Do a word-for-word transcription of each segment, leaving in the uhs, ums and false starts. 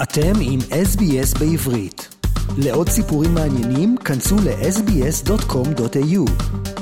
אתם עם אס בי אס בעברית. לעוד סיפורים מעניינים, כנסו ל-אס בי אס דוט קום דוט איי יו.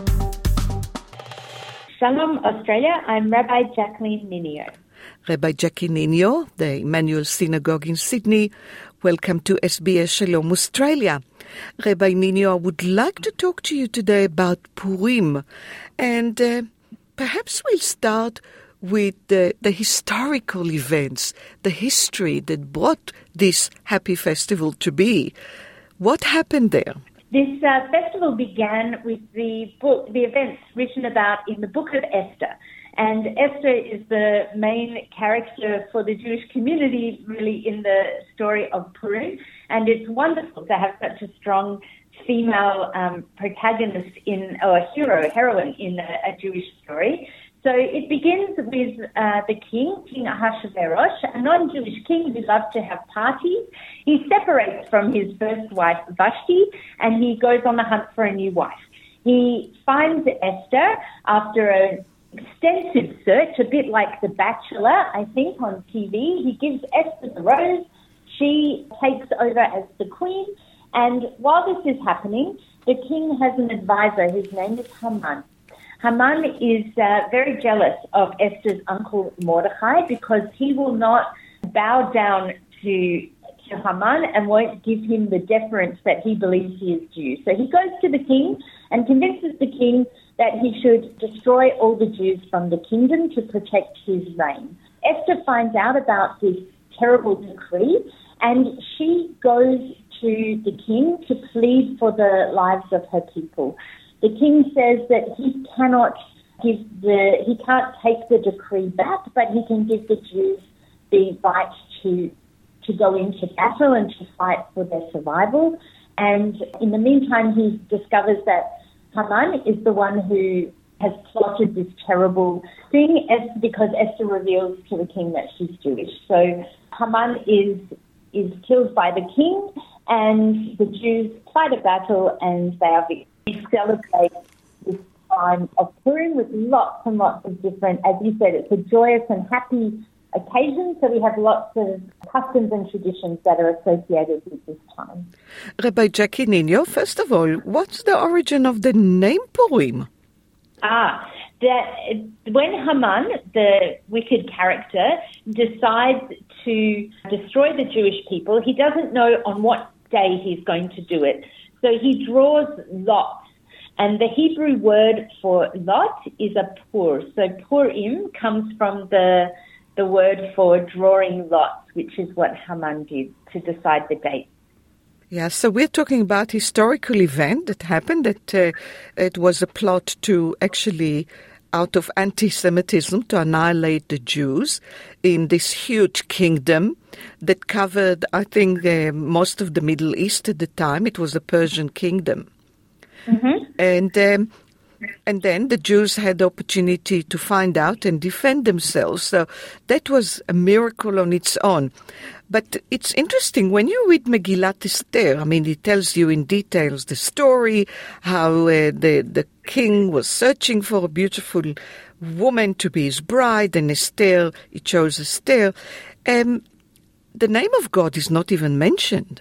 Shalom, Australia. I'm Rabbi Jacqueline Ninio. Rabbi Jackie Ninio, the Emmanuel Synagogue in Sydney. Welcome to S B S Shalom Australia. Rabbi Ninio, I would like to talk to you today about Purim. And uh, perhaps we'll start with the, the historical events, the history that brought this happy festival to be. What happened there? This uh, festival began with the book, the events written about in the Book of Esther. And Esther is the main character for the Jewish community, really, in the story of Purim. And it's wonderful to have such a strong female um, protagonist in, or hero, heroine in a, a Jewish story. So it begins with uh, the king, King Ahasuerus, a non-Jewish king who loves to have parties. He separates from his first wife, Vashti, and he goes on the hunt for a new wife. He finds Esther after an extensive search, a bit like The Bachelor, I think, on T V. He gives Esther the rose. She takes over as the queen. And while this is happening, the king has an advisor. His name is Haman. Haman is uh, very jealous of Esther's uncle Mordechai because he will not bow down to, to Haman and won't give him the deference that he believes he is due. So he goes to the king and convinces the king that he should destroy all the Jews from the kingdom to protect his reign. Esther finds out about this terrible decree and she goes to the king to plead for the lives of her people. The king says that he cannot give the, he can't take the decree back, but he can give the Jews the right to to go into battle and to fight for their survival. And in the meantime, he discovers that Haman is the one who has plotted this terrible thing because Esther reveals to the king that she's Jewish. So Haman is is killed by the king, and the Jews fight a battle and they are victorious. We celebrate this time of Purim with lots and lots of different, as you said, it's a joyous and happy occasion, so we have lots of customs and traditions that are associated with this time. Rabbi Jackie Ninio, first of all, what's the origin of the name Purim? Ah, that when Haman, the wicked character, decides to destroy the Jewish people, he doesn't know on what day he's going to do it. So he draws lots, and the Hebrew word for lot is a pur. So Purim comes from the the word for drawing lots, which is what Haman did to decide the date. Yeah, so we're talking about historical event that happened, that uh, it was a plot to actually, out of anti-Semitism, to annihilate the Jews in this huge kingdom that covered, I think, uh, most of the Middle East at the time. It was a Persian kingdom. Mm-hmm. And um, and then the Jews had the opportunity to find out and defend themselves. So that was a miracle on its own. But it's interesting, when you read Megillat Esther, I mean, it tells you in details the story, how uh, the, the king was searching for a beautiful woman to be his bride, and Esther, he chose Esther. Um, the name of God is not even mentioned.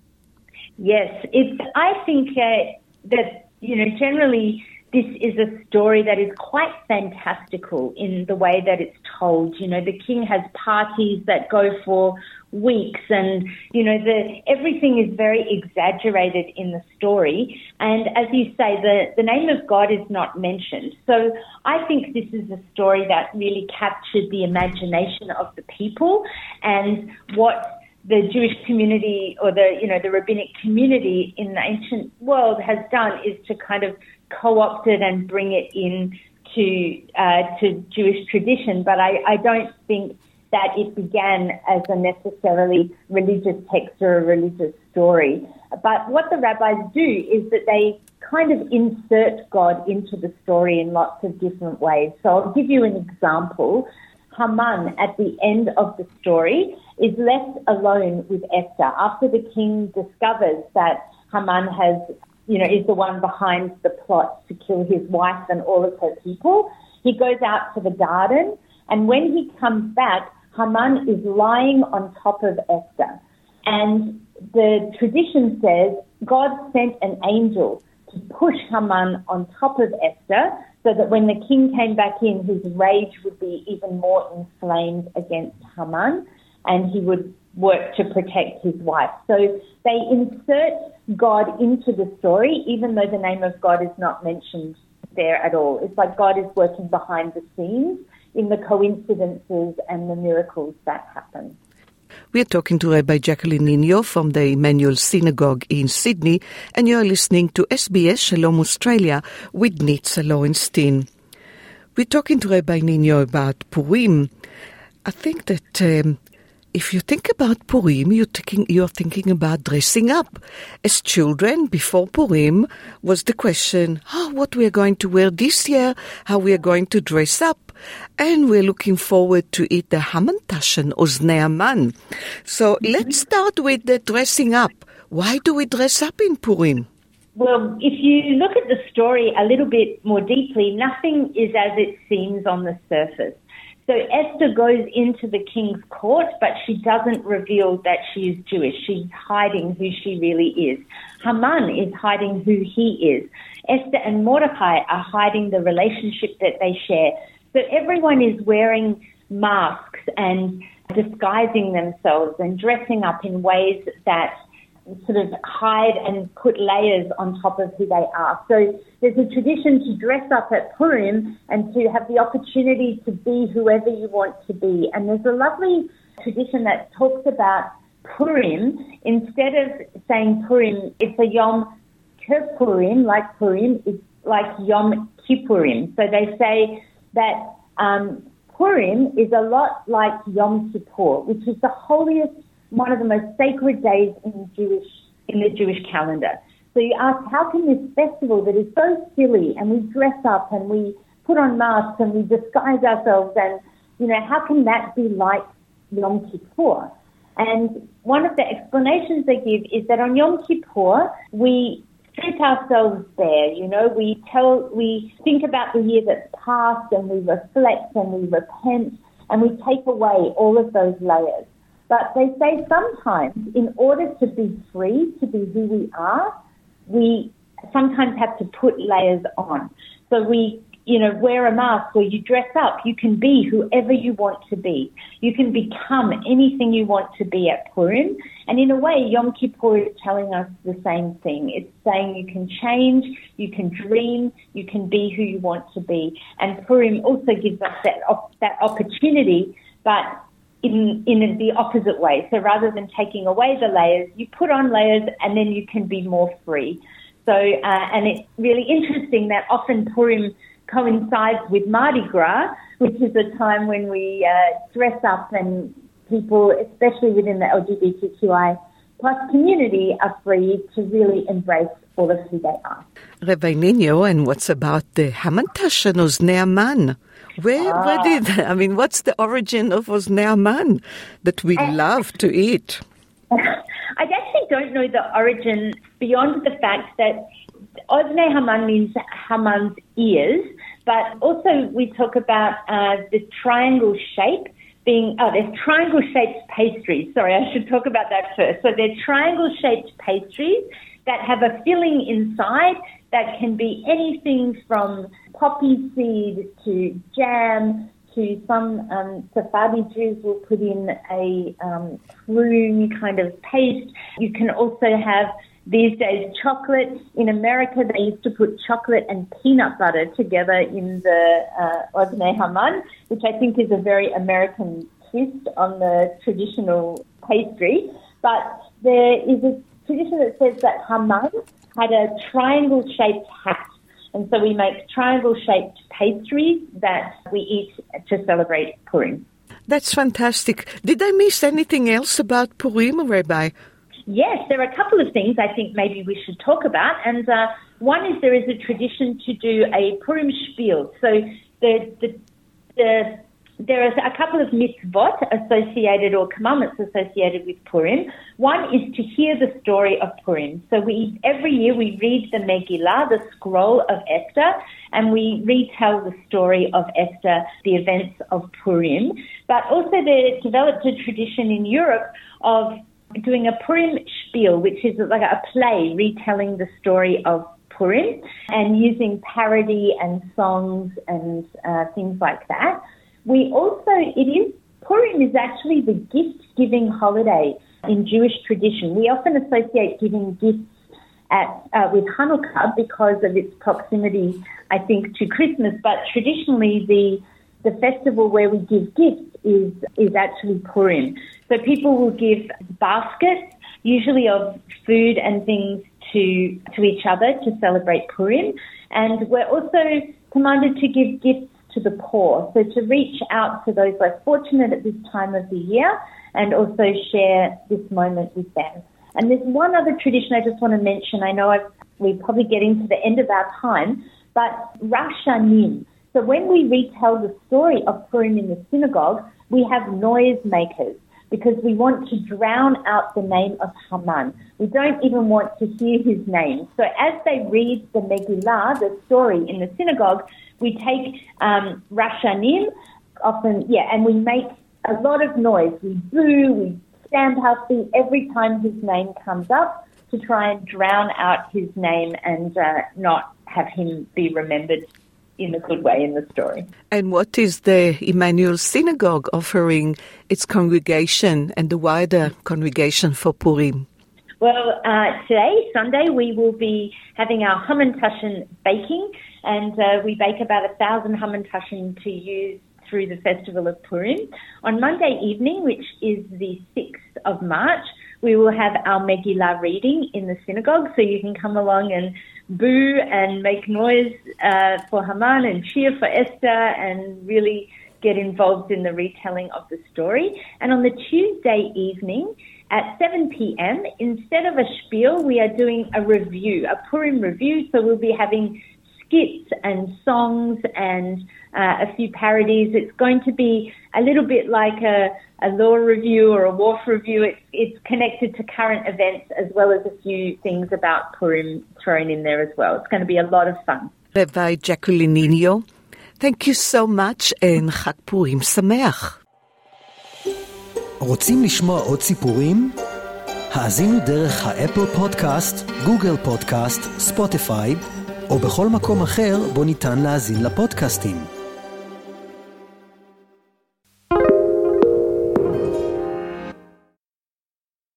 Yes, it's. I think uh, that, you know, generally this is a story that is quite fantastical in the way that it's told. You know, the king has parties that go for weeks, and, you know, the everything is very exaggerated in the story. And as you say, the, the name of God is not mentioned. So I think this is a story that really captured the imagination of the people, and what the Jewish community, or the, you know, the rabbinic community in the ancient world has done is to kind of co-opt it and bring it in to, uh, to Jewish tradition. But I, I don't think that it began as a necessarily religious text or a religious story. But what the rabbis do is that they kind of insert God into the story in lots of different ways. So I'll give you an example. Haman, at the end of the story, is left alone with Esther after the king discovers that Haman has, you know, is the one behind the plot to kill his wife and all of her people. He goes out to the garden, and when he comes back, Haman is lying on top of Esther. And the tradition says God sent an angel to push Haman on top of Esther so that when the king came back in, his rage would be even more inflamed against Haman and he would work to protect his wife. So they insert God into the story, even though the name of God is not mentioned there at all. It's like God is working behind the scenes in the coincidences and the miracles that happen. We're talking to Rabbi Jacqueline Nino from the Emmanuel Synagogue in Sydney, and you're listening to S B S Shalom Australia with Nitza Lowenstein. We're talking to Rabbi Nino about Purim. I think that um, if you think about Purim, you're thinking, you're thinking about dressing up. As children, before Purim, was the question, oh, what we are going to wear this year, how we are going to dress up. And we're looking forward to eat the Hamantaschen, Oznei Haman. So let's start with the dressing up. Why do we dress up in Purim? Well, if you look at the story a little bit more deeply, nothing is as it seems on the surface. So Esther goes into the king's court, but she doesn't reveal that she is Jewish. She's hiding who she really is. Haman is hiding who he is. Esther and Mordecai are hiding the relationship that they share. So everyone is wearing masks and disguising themselves and dressing up in ways that sort of hide and put layers on top of who they are. So there's a tradition to dress up at Purim and to have the opportunity to be whoever you want to be. And there's a lovely tradition that talks about Purim. Instead of saying Purim, it's a Yom Kippurim, like Purim, it's like Yom Kippurim. So they say that um, Purim is a lot like Yom Kippur, which is the holiest, one of the most sacred days in the Jewish in the Jewish calendar. So you ask, how can this festival that is so silly, and we dress up and we put on masks and we disguise ourselves, and you know, how can that be like Yom Kippur? And one of the explanations they give is that on Yom Kippur we strip ourselves bare, you know, we tell, we think about the year that's passed and we reflect and we repent and we take away all of those layers. But they say sometimes in order to be free, to be who we are, we sometimes have to put layers on. So we, you know, wear a mask or you dress up. You can be whoever you want to be. You can become anything you want to be at Purim. And in a way, Yom Kippur is telling us the same thing. It's saying you can change, you can dream, you can be who you want to be. And Purim also gives us that op- that opportunity, but in in the opposite way. So rather than taking away the layers, you put on layers and then you can be more free. So, uh, and it's really interesting that often Purim coincides with Mardi Gras, which is a time when we uh, dress up and people, especially within the L G B T Q I plus community, are free to really embrace all of who they are. Rabbi Nino, and what's about the Hamantaschen Oznei Haman? Where, ah. where did, I mean, what's the origin of Oznei Haman that we I, love to eat? I actually don't know the origin beyond the fact that Oznei Haman means Haman's ears, but also we talk about uh, the triangle shape being, oh, there's triangle-shaped pastries. Sorry, I should talk about that first. So they're triangle-shaped pastries that have a filling inside that can be anything from poppy seed to jam to some um, Sephardi Jews will put in a um, prune kind of paste. You can also have these days chocolate. In America, they used to put chocolate and peanut butter together in the uh, Oznei Haman, which I think is a very American twist on the traditional pastry. But there is a tradition that says that Haman had a triangle-shaped hat. And so we make triangle-shaped pastries that we eat to celebrate Purim. That's fantastic. Did I miss anything else about Purim, Rabbi? Yes, there are a couple of things I think maybe we should talk about. And uh, one is there is a tradition to do a Purim spiel. So the, the, the, there are a couple of mitzvot associated or commandments associated with Purim. One is to hear the story of Purim. So we every year we read the Megillah, the scroll of Esther, and we retell the story of Esther, the events of Purim. But also they developed a tradition in Europe of doing a Purim spiel, which is like a play retelling the story of Purim and using parody and songs and uh, things like that. We also, it is, Purim is actually the gift-giving holiday in Jewish tradition. We often associate giving gifts at uh, with Hanukkah because of its proximity, I think, to Christmas, but traditionally the the festival where we give gifts is is actually Purim. So people will give baskets, usually of food and things, to to each other to celebrate Purim. And we're also commanded to give gifts to the poor, so to reach out to those less fortunate at this time of the year and also share this moment with them. And there's one other tradition I just want to mention. I know I've, we're probably getting to the end of our time, but Rashanim. So when we retell the story of Purim in the synagogue, we have noise makers because we want to drown out the name of Haman. We don't even want to hear his name. So as they read the Megillah, the story in the synagogue, we take um, Rashanim, often, yeah, and we make a lot of noise. We boo, we stamp our feet every time his name comes up to try and drown out his name and uh, not have him be remembered in a good way in the story. And what is the Emmanuel Synagogue offering its congregation and the wider congregation for Purim? Well, uh, today, Sunday, we will be having our Hamantaschen baking, and uh, we bake about a thousand Hamantaschen to use through the festival of Purim. On Monday evening, which is the sixth of March, we will have our Megillah reading in the synagogue, so you can come along and boo and make noise uh, for Haman and cheer for Esther and really get involved in the retelling of the story. And on the Tuesday evening at seven p.m., instead of a spiel, we are doing a review, a Purim review, so we'll be having skits and songs and uh, a few parodies. It's going to be a little bit like a, a law review or a wharf review. It's, it's connected to current events as well as a few things about Purim thrown in there as well. It's going to be a lot of fun. Rabbi Jacqueline Ninio, thank you so much and חג פורים שמח. רוצים לשמוע עוד סיפורים? האזינו דרך האפל פודקאסט, גוגל פודקאסט, ספוטיפיי, או בכל מקום אחר בו ניתן להאזין לפודקאסטים.